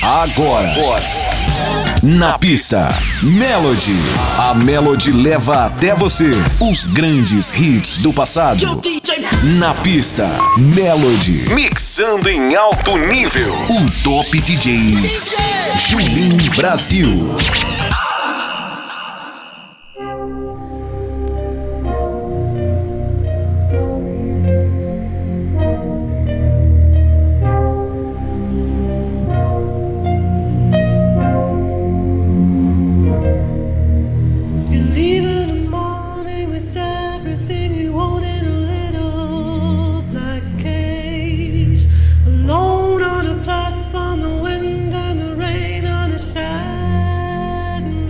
Agora. Na pista, Melody. A Melody leva até você os grandes hits do passado. Na pista, Melody. Mixando em alto nível. O Top DJ Julinho Brasil. Alone on a platform, the wind and the rain on a sad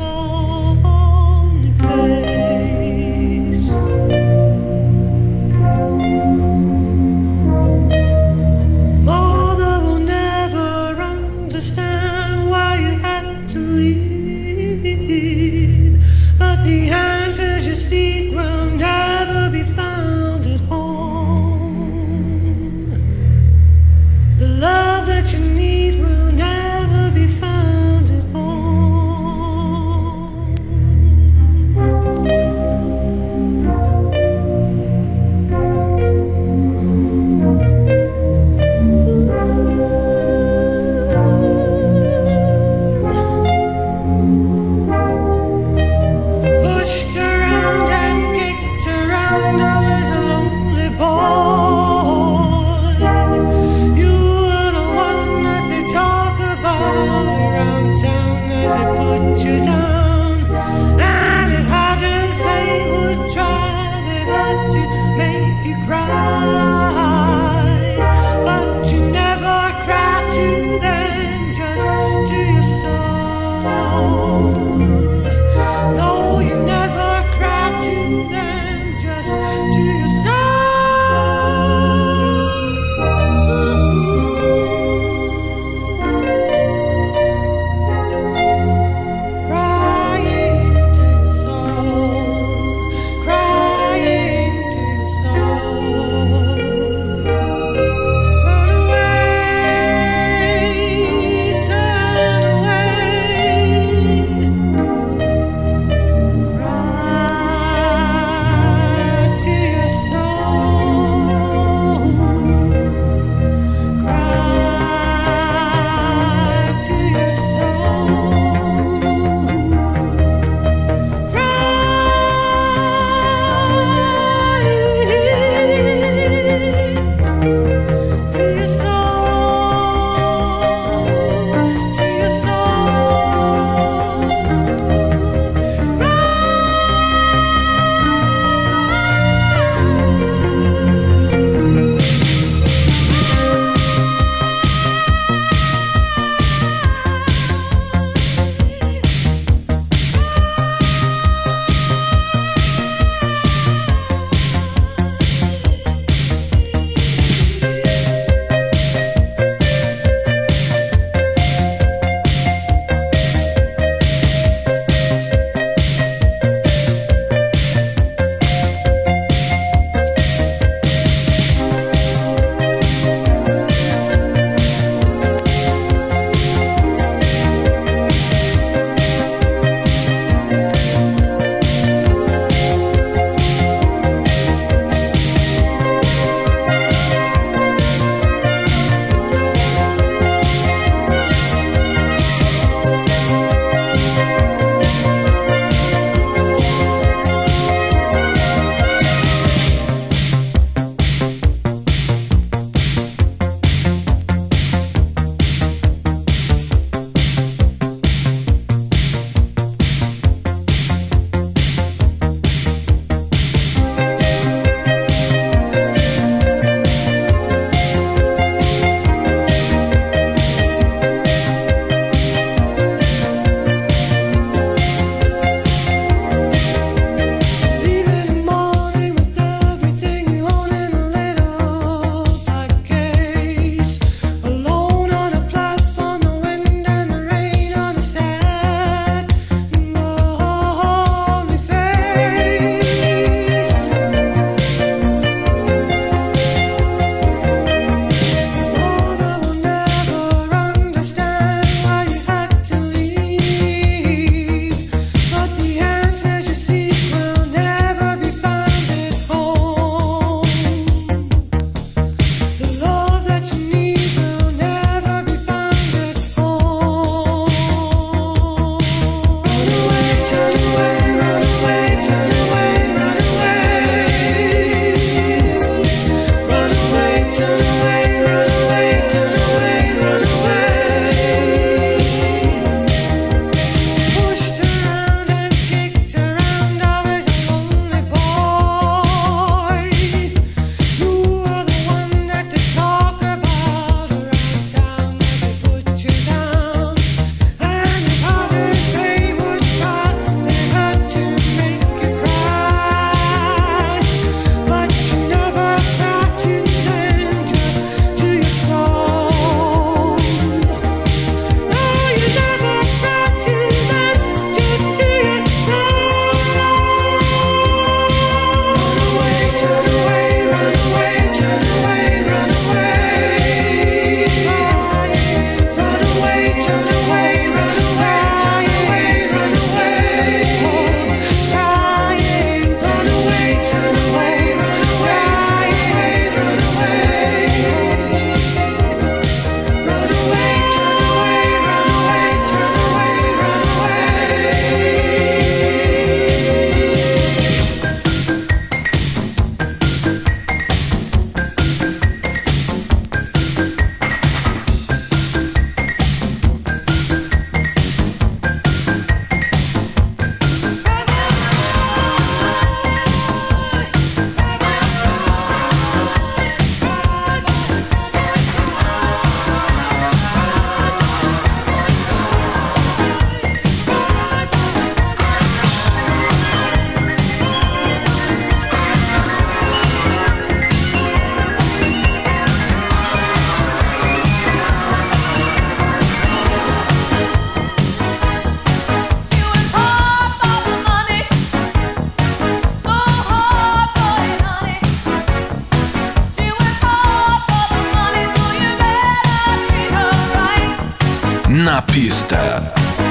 Na pista.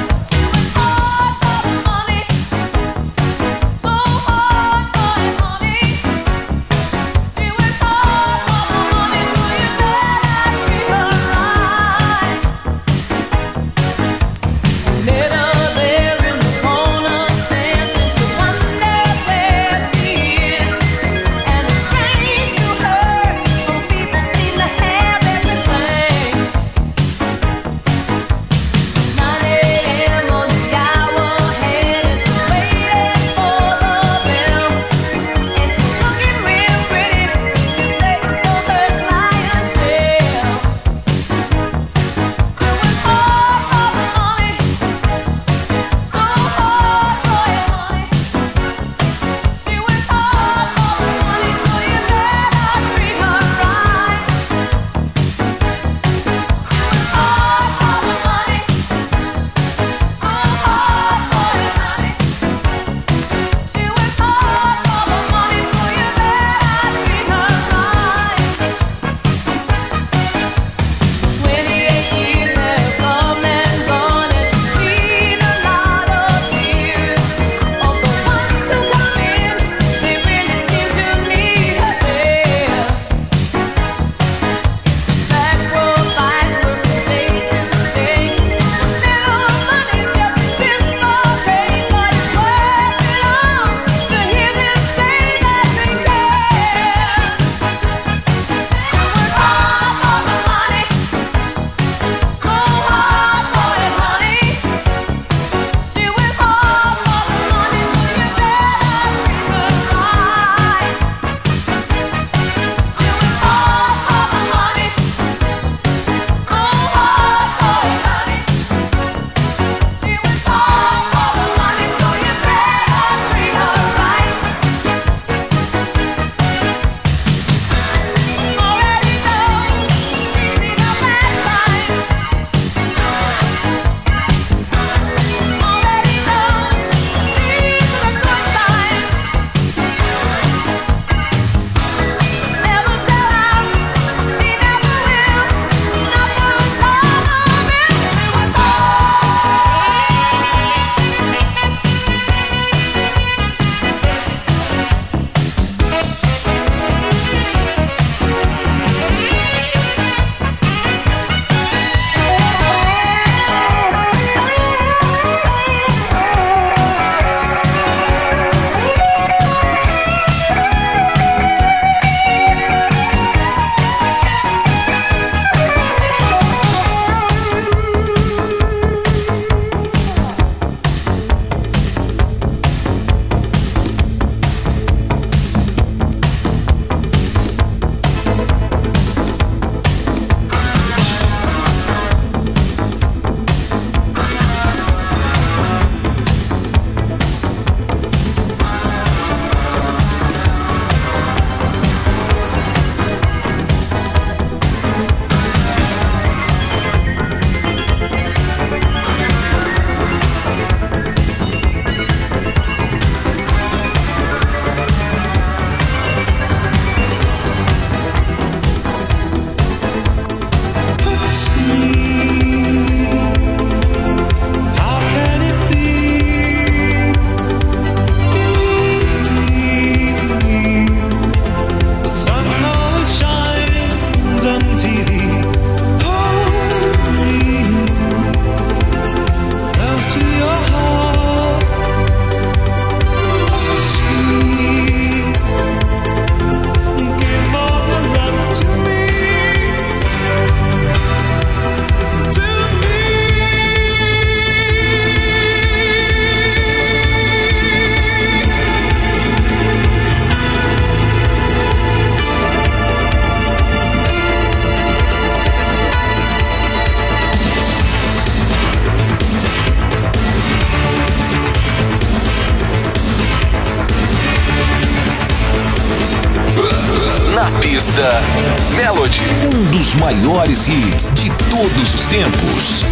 Pista Melody, um dos maiores hits de todos os tempos.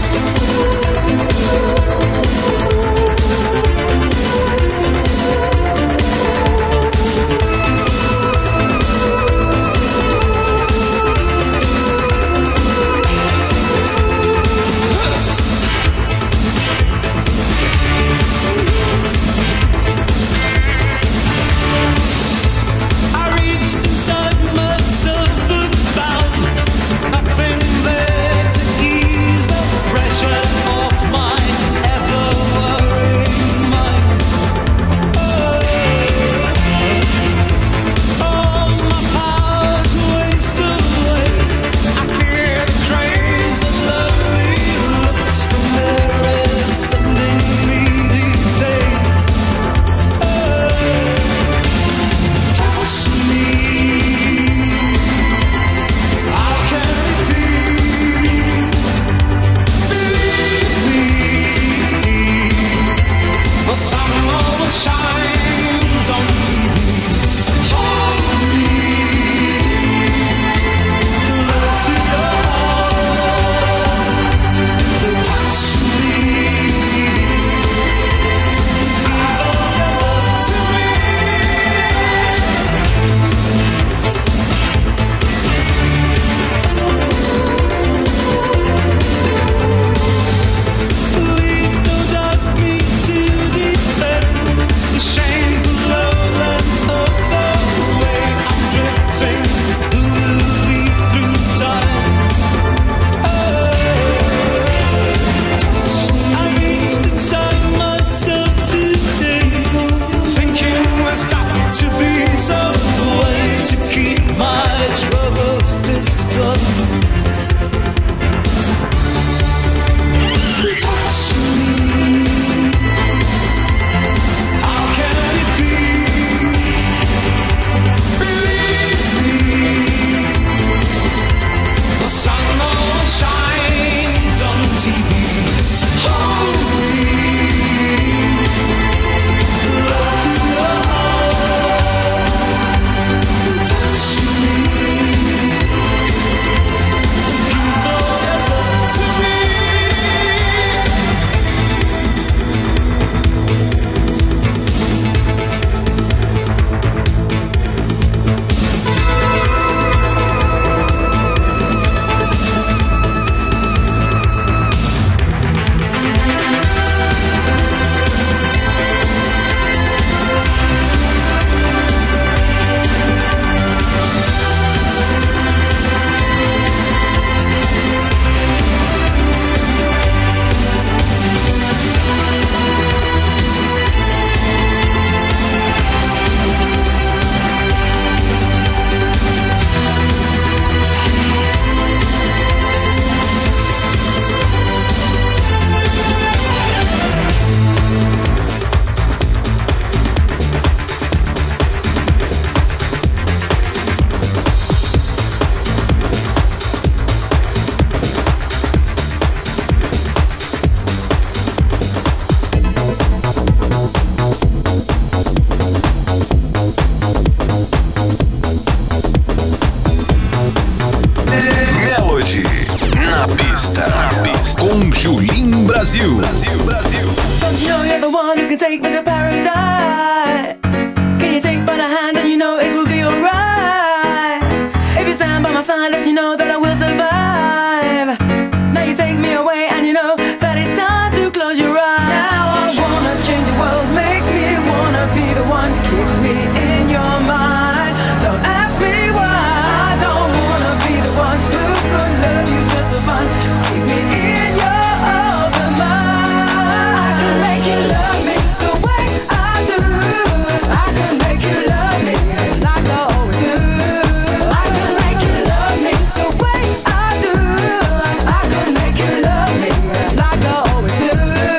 Julim Brasil. Don't you know you're the one who can take me to paradise? Can you take by the hand and you know it will be alright? If you stand by my side, let you know that I will survive. Now you take me away and you know that it's time to close your eyes. Now I wanna change the world, make me wanna be the one. Keep me in your mind. Don't ask me why. I don't wanna be the one who could love you just for fun. Keep me in your open mind. I can make you love me the way I do. I can make you love me like I always do. I can make you love me the way I do. I can make you love me like I always do.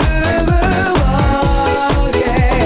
Oh yeah.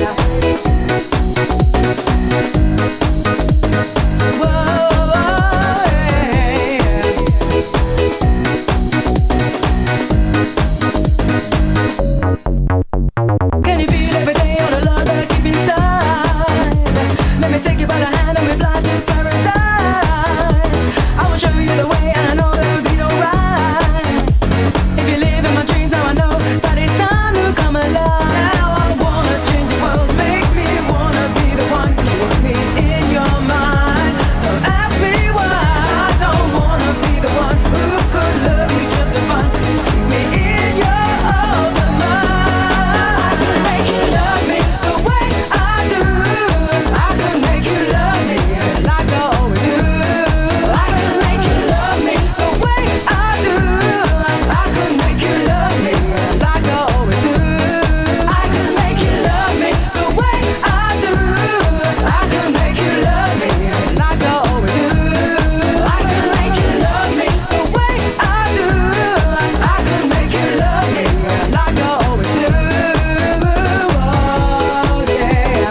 Can you feel every day all the love that I keep inside? Let me take you by the hand and we fly to paradise. I will show you the way and I know that it'll be alright. If you live in my dreams, now I know that it's time to come alive. Now I wanna change the world, make me wanna be the one. Keep me in your mind. Don't ask me why. I don't wanna be the one who could love you just for fun. Keep me in your open mind. I can make you love me the way I do. I can make you love me like I always do. I can make you love me the way I do. I can make you love me like I always do. I can make you love me the way I do. I can make you love me like I always do. I can make you love me the way I do. I can make you love me like I always do. Oh yeah.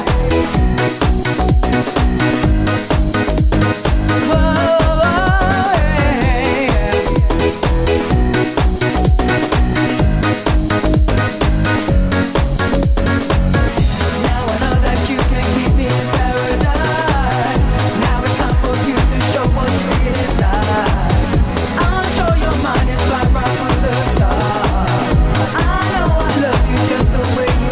Now I know that you can keep me in paradise. Now it's time for you to show what you get inside. I'm sure your mind is fly right through the stars. I know I love you just the way you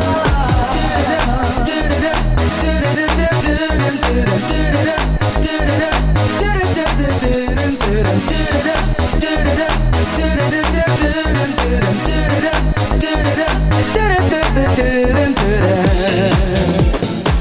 are.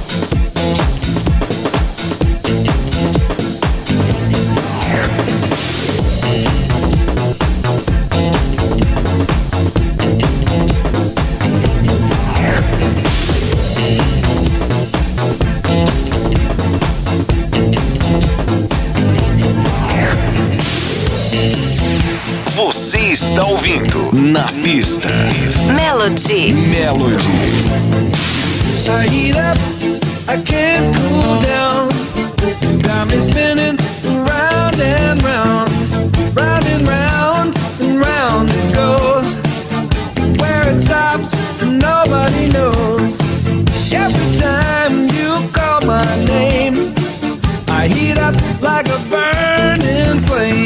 Você está ouvindo Na Pista. Melody. I heat up, I can't cool down. Got me spinning round and round, round and round and round it goes. Where it stops, nobody knows. Every time you call my name, I heat up like a burning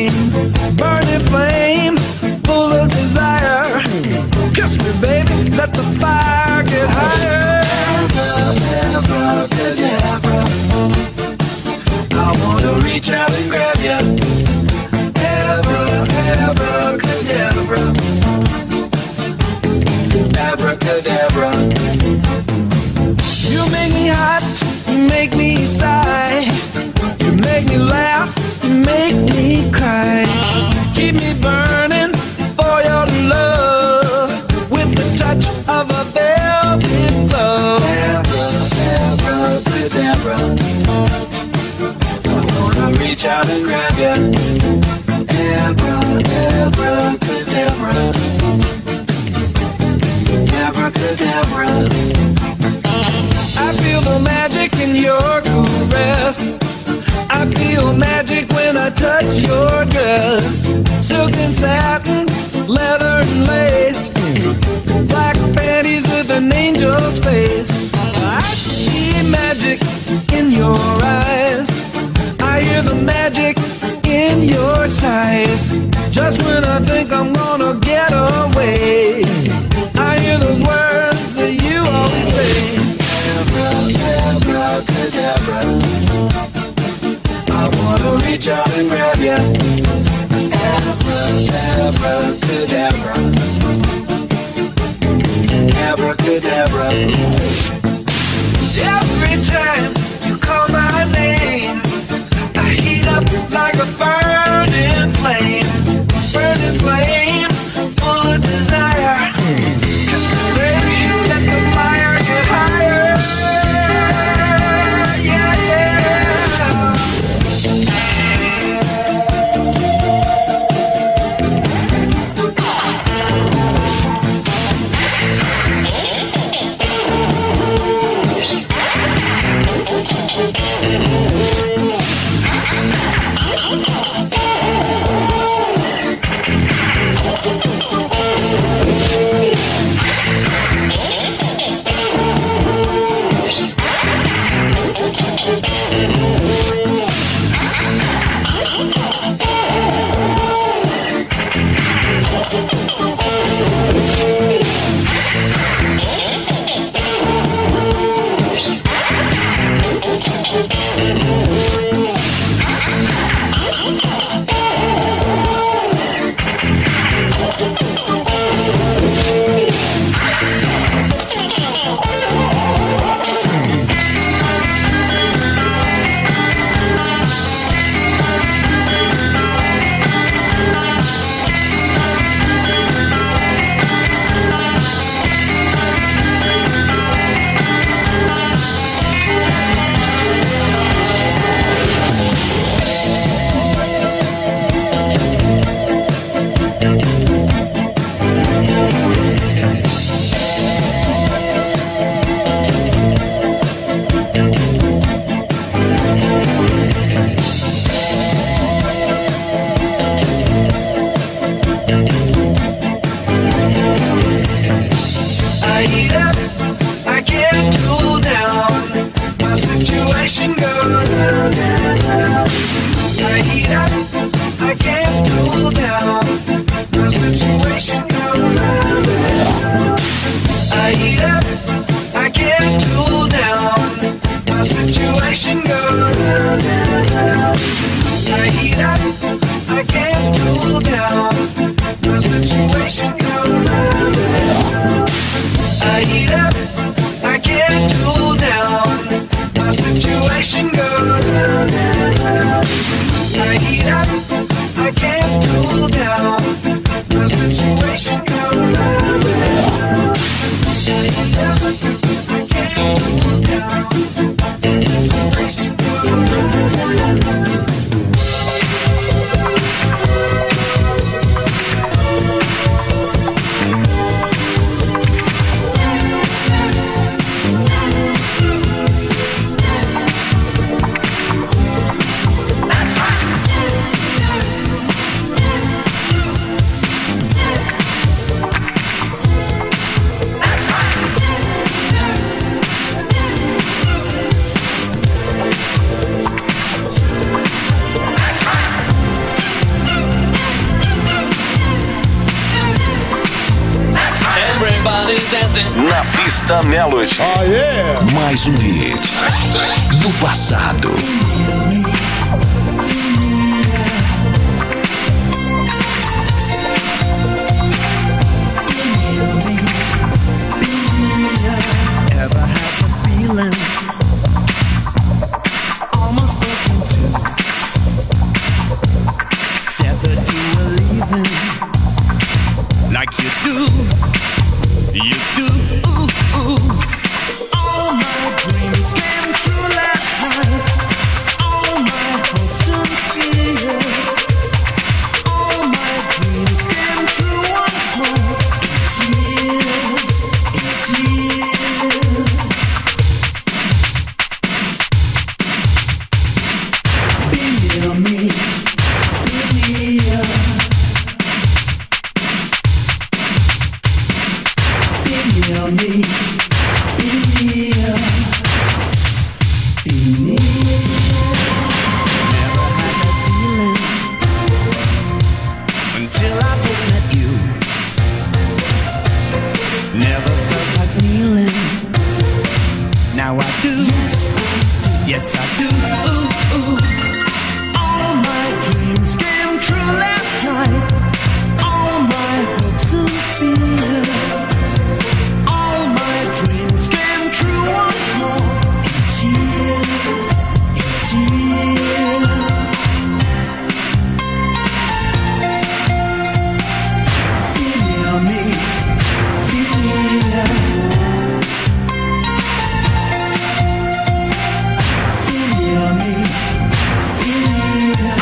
flame, full of desire. Kiss me, baby, let the fire get higher. Abracadabra, I wanna reach out and grab ya. Abracadabra, abracadabra. You make me hot, you make me sigh. You make me laugh, you make me cry. Keep me burning for your love with the touch of a velvet glove. Abracadabra, I wanna reach out and grab ya. Abracadabra, abracadabra. I feel the magic in your caress. I feel magic when I touch your dress. Silk and satin, leather and lace, black panties with an angel's face. I see magic in your eyes. I hear the magic in your sighs. Just when I think I'm gonna get away, Everybody's dancing. Na pista Melody. Oh, yeah. Mais um hit do passado. Ever had the feeling almost broke in two? Said that you were leaving like you do. All my dreams came true last night. All my hopes and fears. All my dreams came true once more. Tears, tears. Be near me, be near. Be near me, be near. Be near. Never had that feeling until I first met you. Never felt like kneeling. Now I do. Yes, I do. All my dreams came true last night. All my hopes and fears. All my dreams came true once more. In tears, in tears. Be near me, be near. Be near me, be near.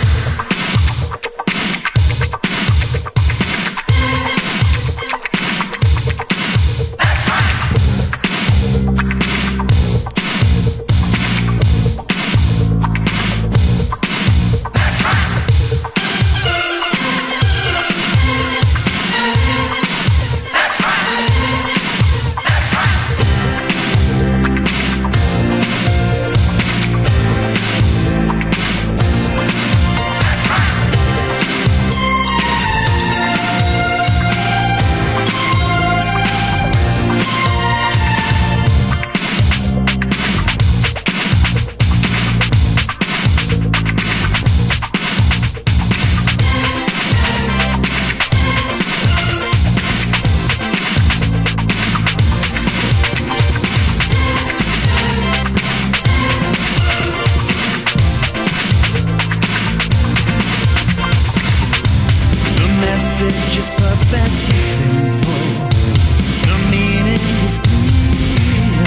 The message is perfectly simple. The meaning is clear.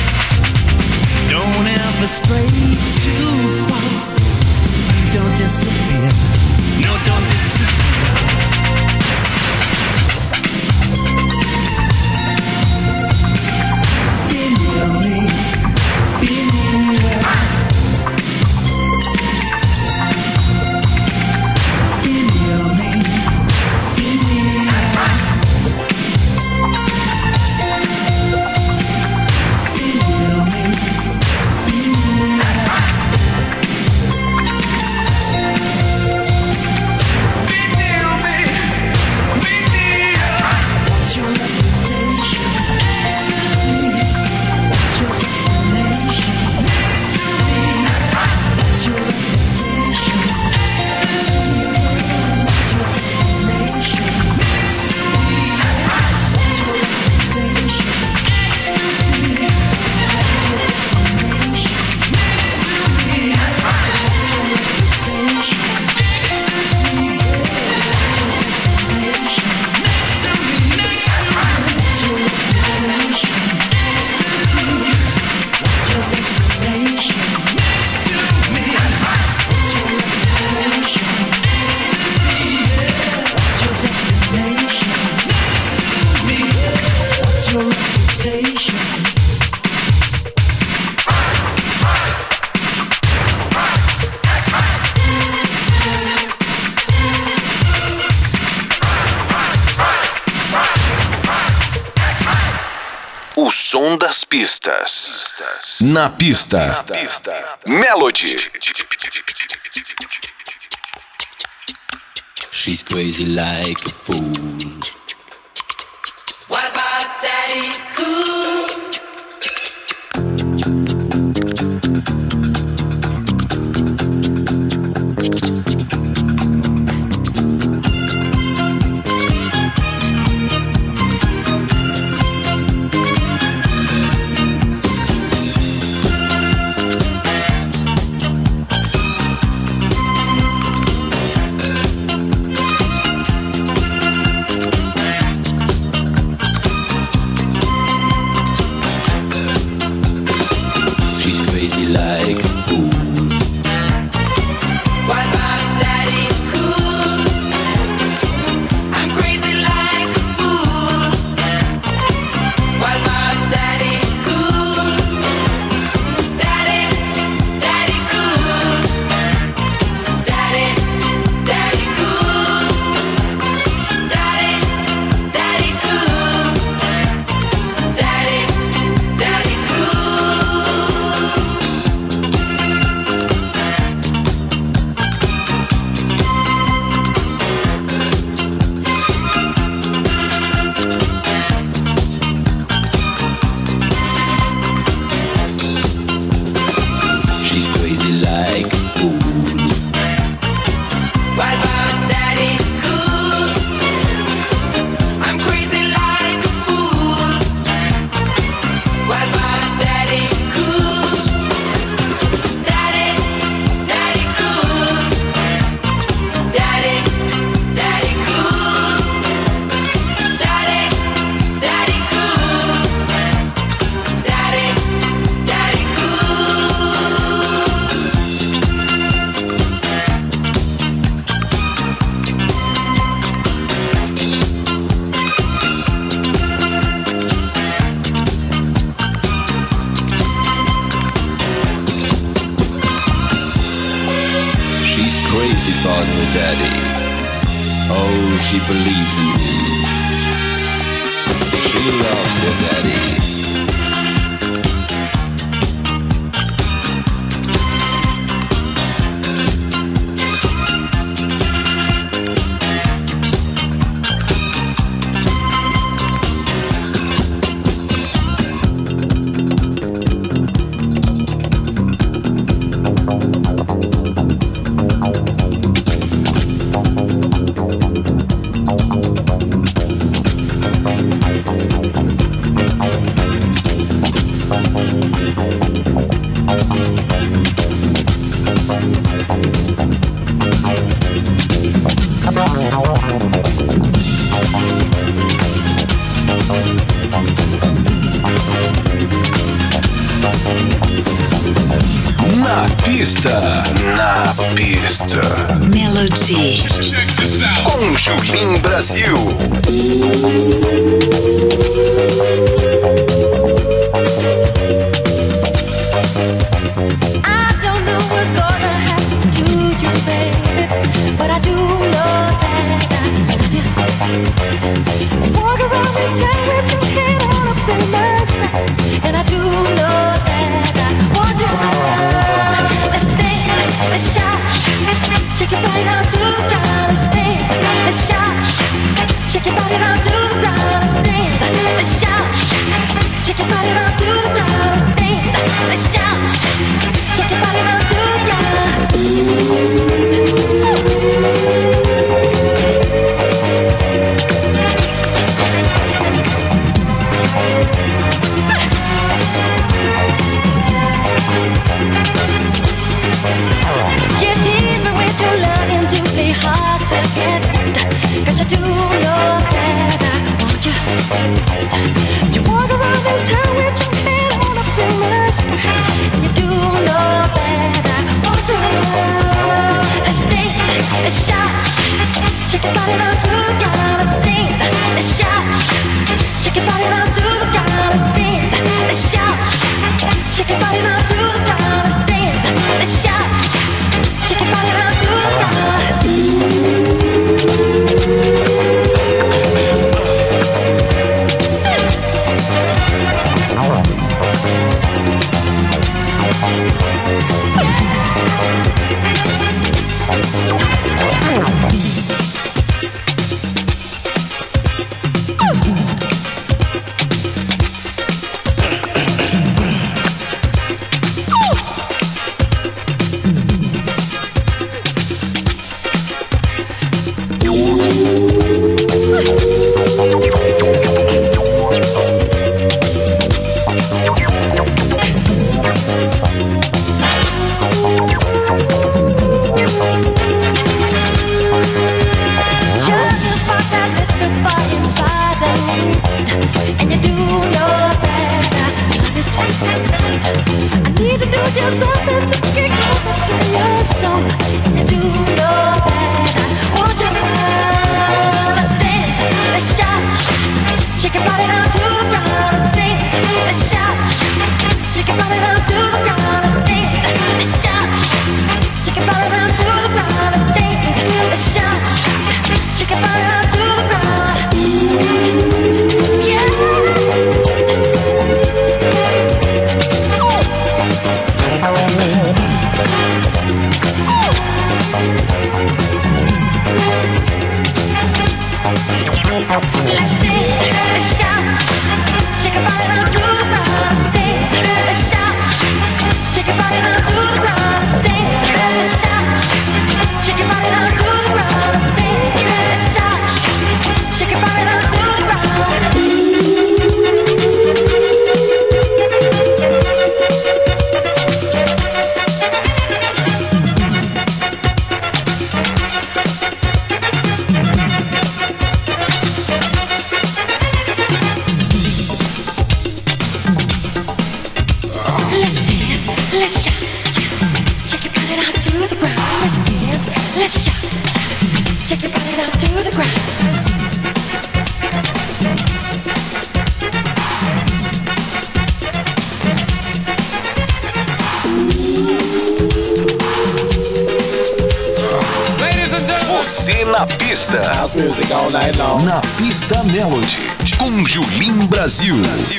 Don't ever stray too far. Don't disappear. No, don't disappear. Be near me. Be near. Be near me. Be near. Be near me. Be near. O som das pistas. Na pista. Melody. She's crazy like a fool. What about about her daddy. Oh, she believes in him. She loves her daddy. Na pista. Melody. Com Julim Brasil. I don't know what's gonna happen to you, baby, but I do know that I love you. Walk around this town with your head on up in the sky, and I do know that I want you. Let's dance, let's shout, shake your body down to the ground. Let's dance, let's shout, shake your body down to the ground. Let's dance, let's shout, shake your body down to the ground. Let's dance, let's shout, shake your body down to the ground. You tease me with your loving to be hard to get, 'cause you do know that I want you. You walk around this town with your head on up in the sky, and you do know that I want you. Let's dance, let's shout, shake your body down to the ground. Let's dance, let's shout, shake your body down to the ground. Let's dance, let's shout, shake your body down to the ground. Let's dance, let's shout, shake your body down to the ground. pista. House music all night long. Na pista Melody. Com Julim Brasil.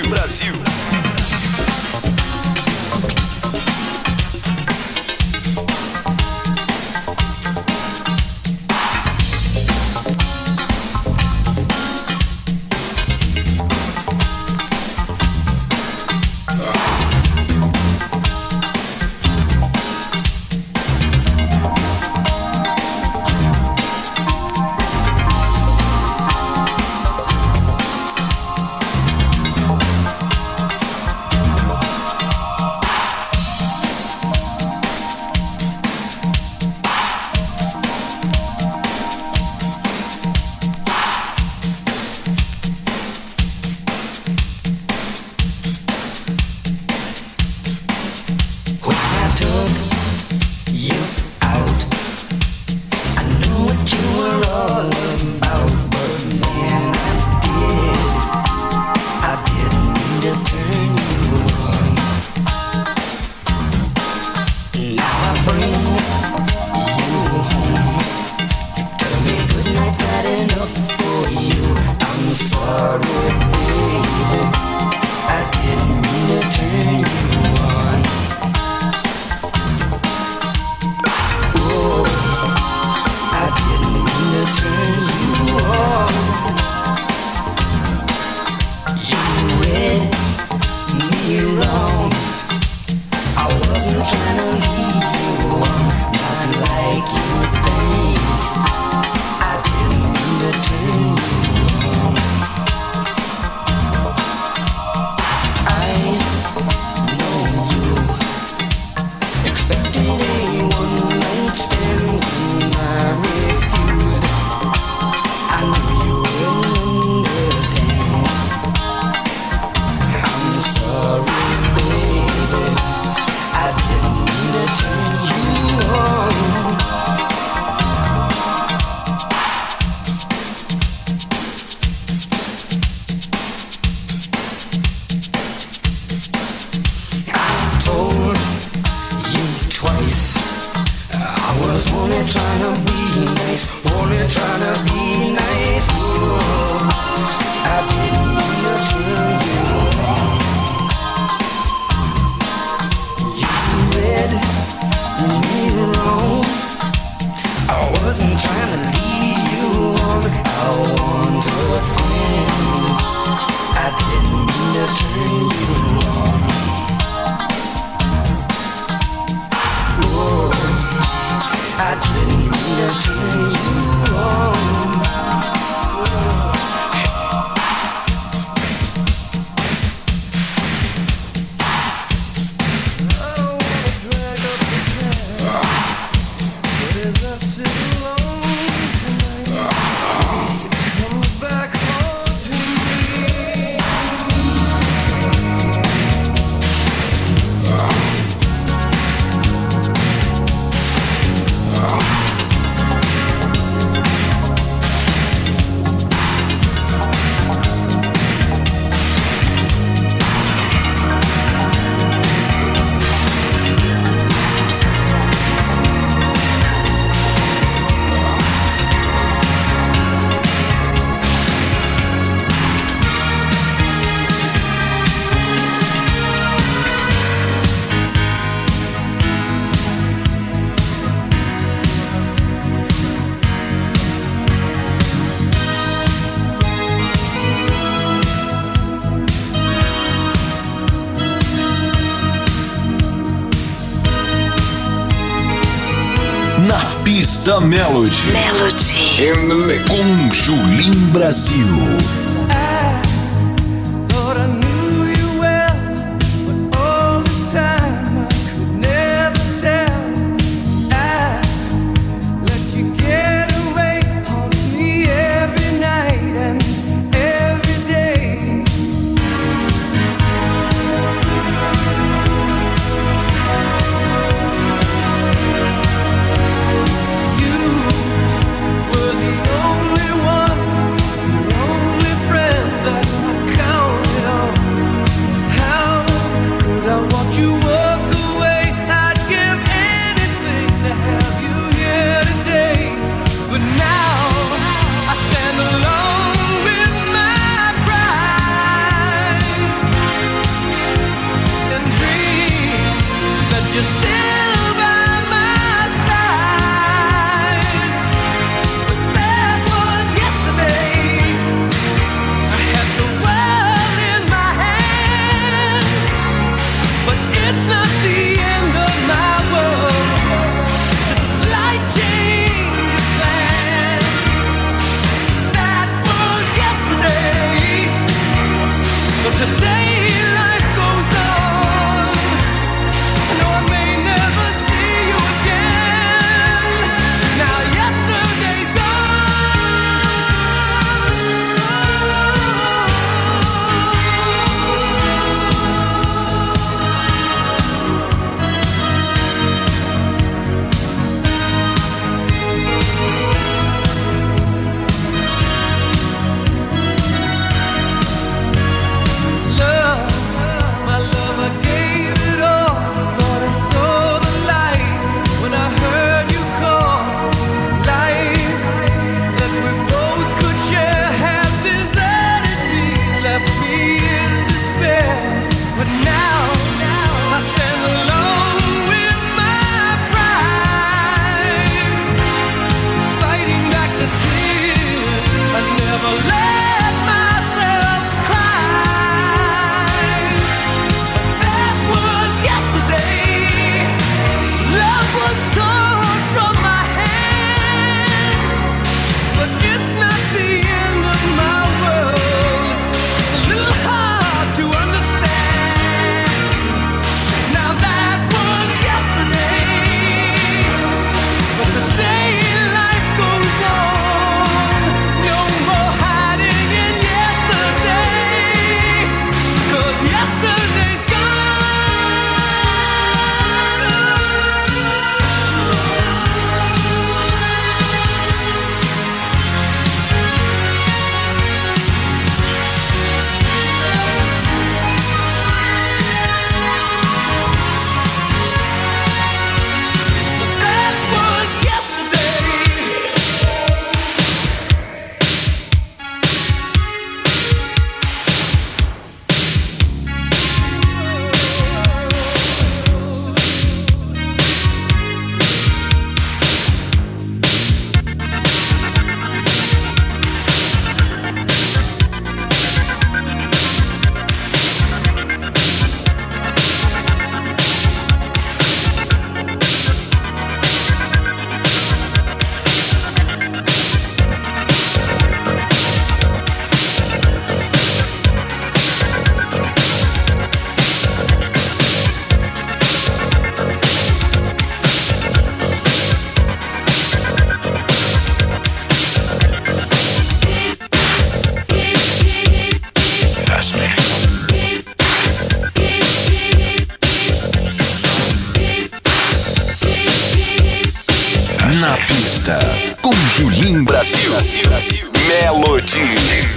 Pista Melody. In the mix. Com Julim Brasil. Only Brasil. Melody.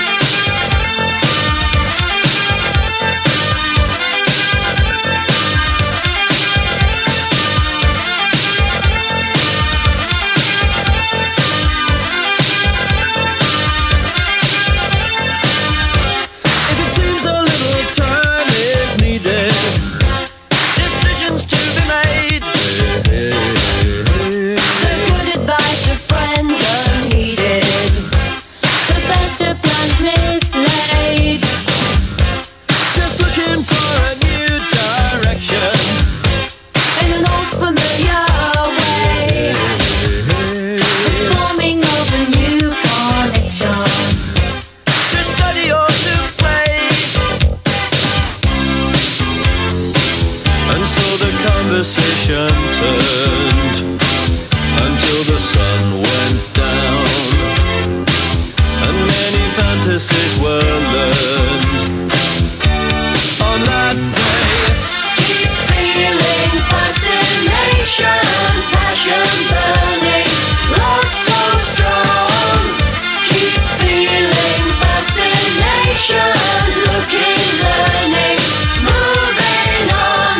Conversation turned until the sun went down, and many fantasies were learned on that day. Keep feeling fascination, passion burning, love so strong. Keep feeling fascination, looking, learning, moving on.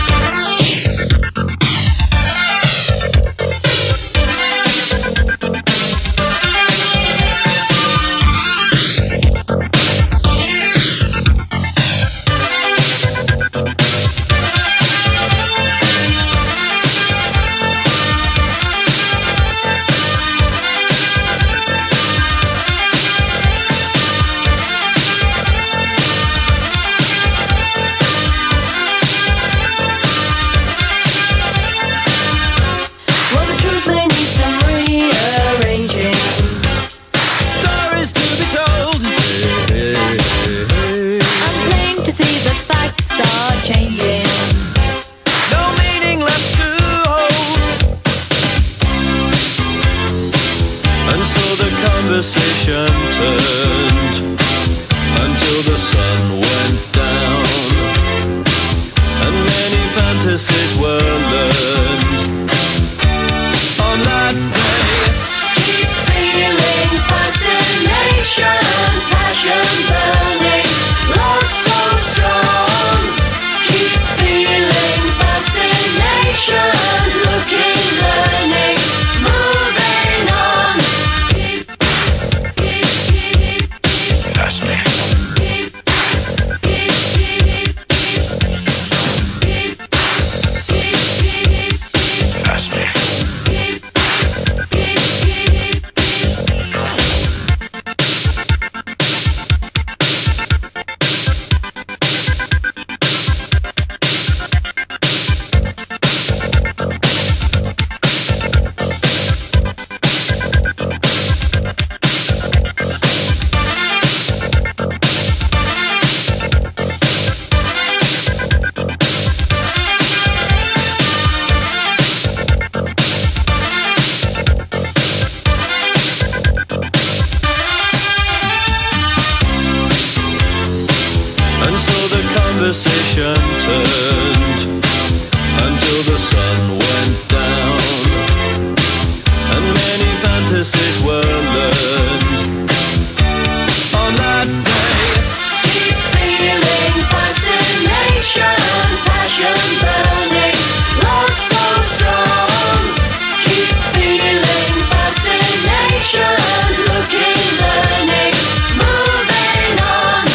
Conversation turned until the sun went down, and many fantasies were learned on that day. Keep feeling fascination, passion burning, love so strong. Keep feeling fascination, looking, learning, moving on. Conversation turned until the sun went down, and many fantasies were learned on that day. Keep feeling fascination, passion burning, love so strong. Keep feeling fascination, looking, learning, moving on.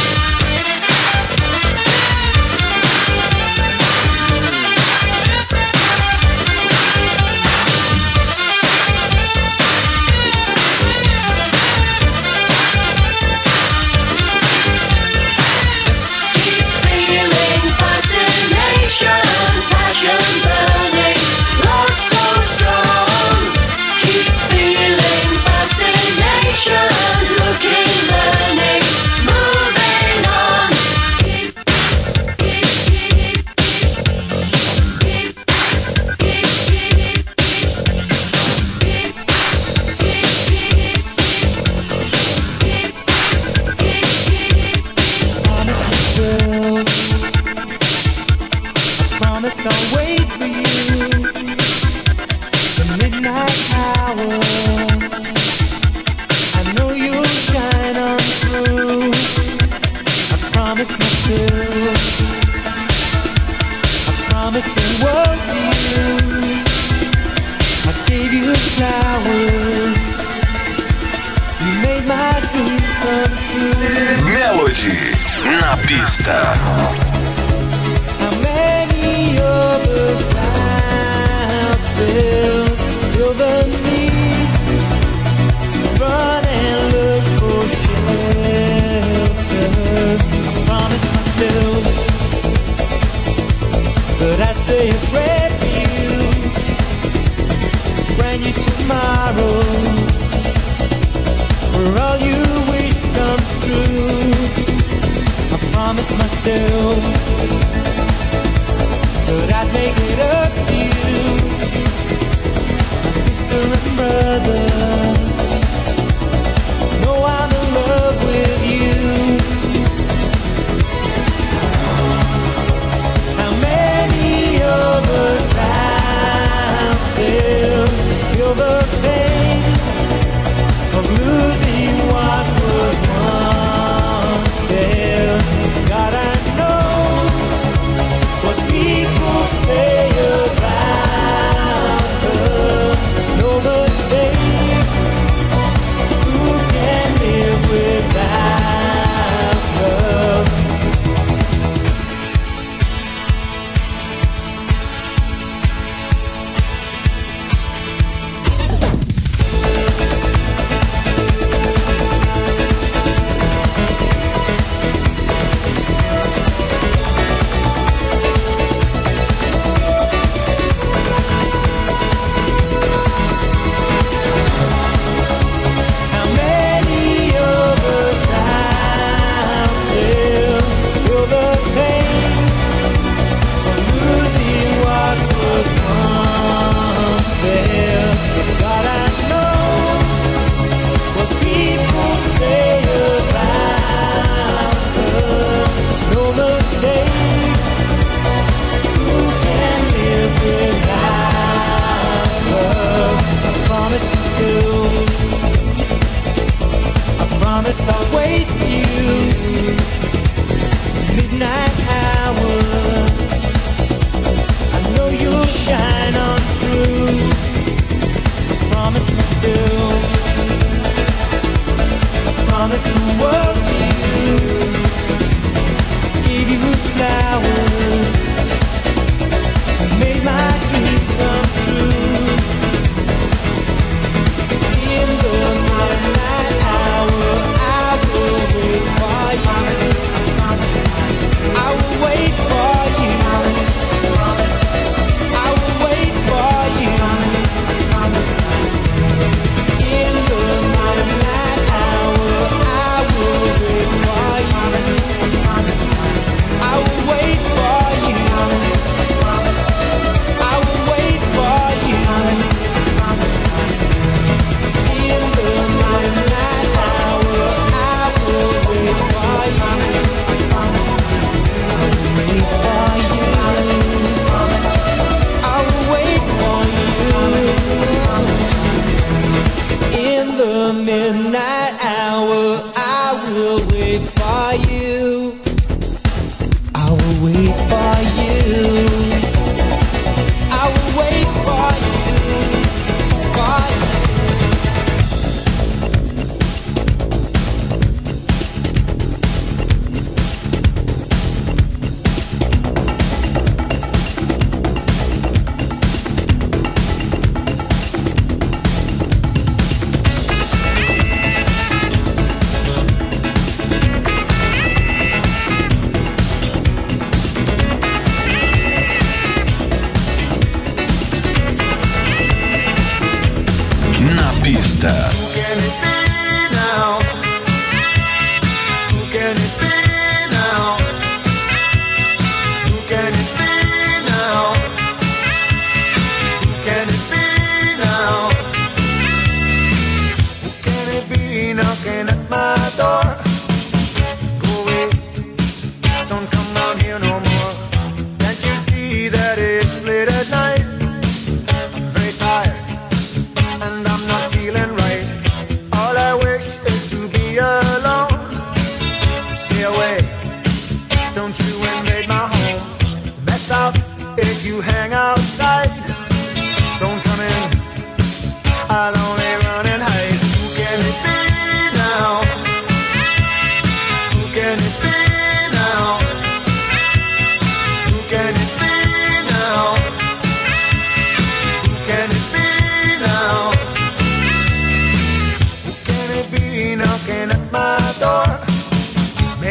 Melody na pista. How many of us out there feel the need to run and look for shelter? I promised myself that I'd say a prayer for you, bring you tomorrow, where all you wish comes true. I promised myself that I'd make it up to you, my sister and brother. Know I'm in love with you. How many of us out there feel the pain of losing what was once there? God, I know what people say about love. No mistake, who can live without love? How many of us out there feel the pain of losing what was once there? God, I know what people say about love. No mistake, who can live without love? I promised myself, I promised I'll wait for you. Midnight hour, I know you'll shine on through. I promised myself, I promised the world to you. Gave you flowers, made my dreams come true. In the midnight hour, I will wait for you. I will wait for you. I will wait for you. In the midnight hour, I will wait for you. I will wait for you. I will wait for you. In the midnight hour, I will wait for you. I will wait for you. In the midnight hour, I will wait for you. I will wait for you. I will wait for you. For you. Na pista. Can it be now? Who can it be now? Who can it be now? Who can it be now? Who can it be knocking at my door? Go away, don't come round here no more. Can't you see that it's late at night? I'm very tired and I'm not feeling right. All I wish is to be alone. Stay away, don't you invade my home. Best off if you hang outside. Don't come in, I'll only run and hide. Who can it be now? Who can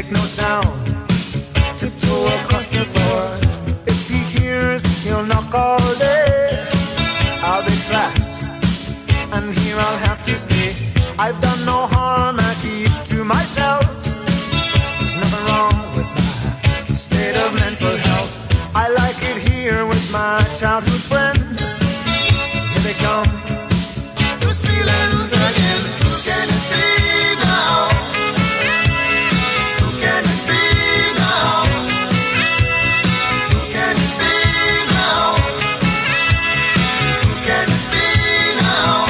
make no sound. Tiptoe across the floor. If he hears, he'll knock all day. I'll be trapped, and here I'll have to stay. I've done no harm, I keep to myself. There's nothing wrong with my state of mental health. I like it here with my childhood friend. Here they come, those feelings again. Who can it be now? Who can it be now? Who can it be now? Who can it be now?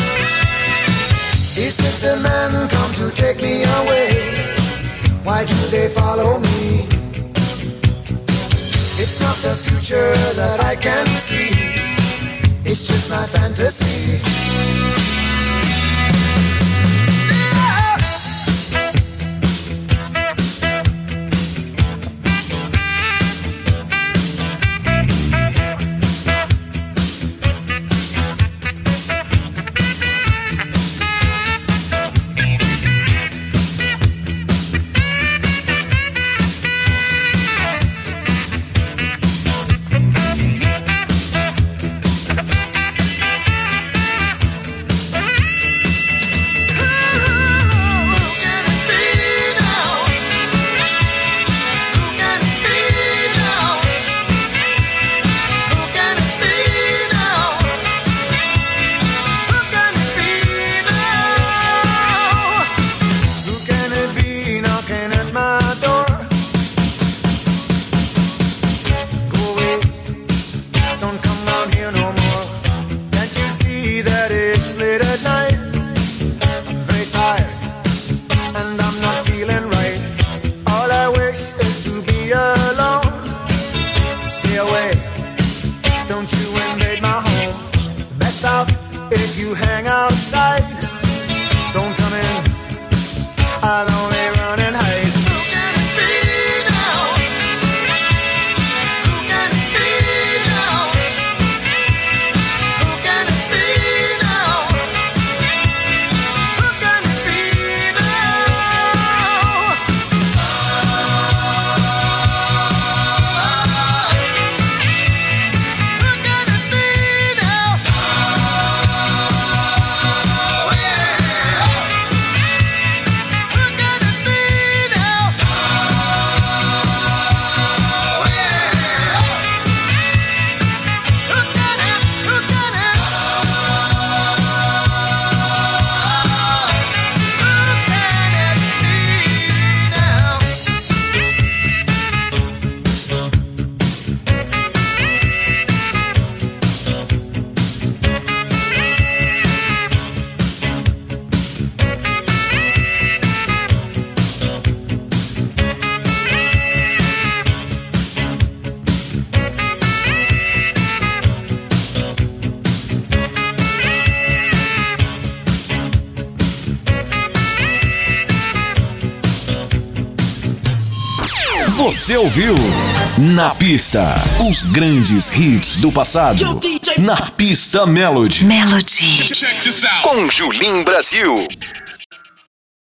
Is it the men come to take me away? Why do they follow me? It's not the future that I can see. It's just my fantasy. Você ouviu Na Pista, os grandes hits do passado. Na Pista Melody. Melody. Com Julim Brasil.